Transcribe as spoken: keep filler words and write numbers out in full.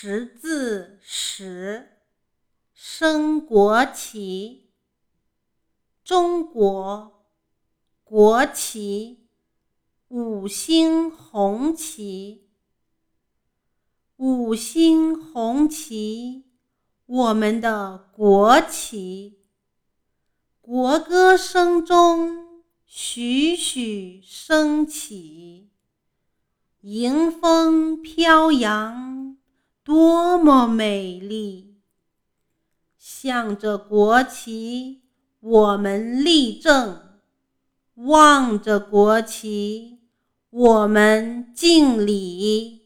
识字时，升国旗。中国国旗，五星红旗。五星红旗，我们的国旗。国歌声中徐徐升起，迎风飘扬，多么美丽！向着国旗，我们立正；望着国旗，我们敬礼。